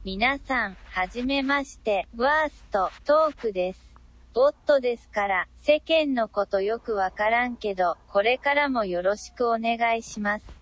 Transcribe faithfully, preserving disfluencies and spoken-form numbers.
皆さん、はじめまして、ワースト、トークです。ボットですから、世間のことよくわからんけど、これからもよろしくお願いします。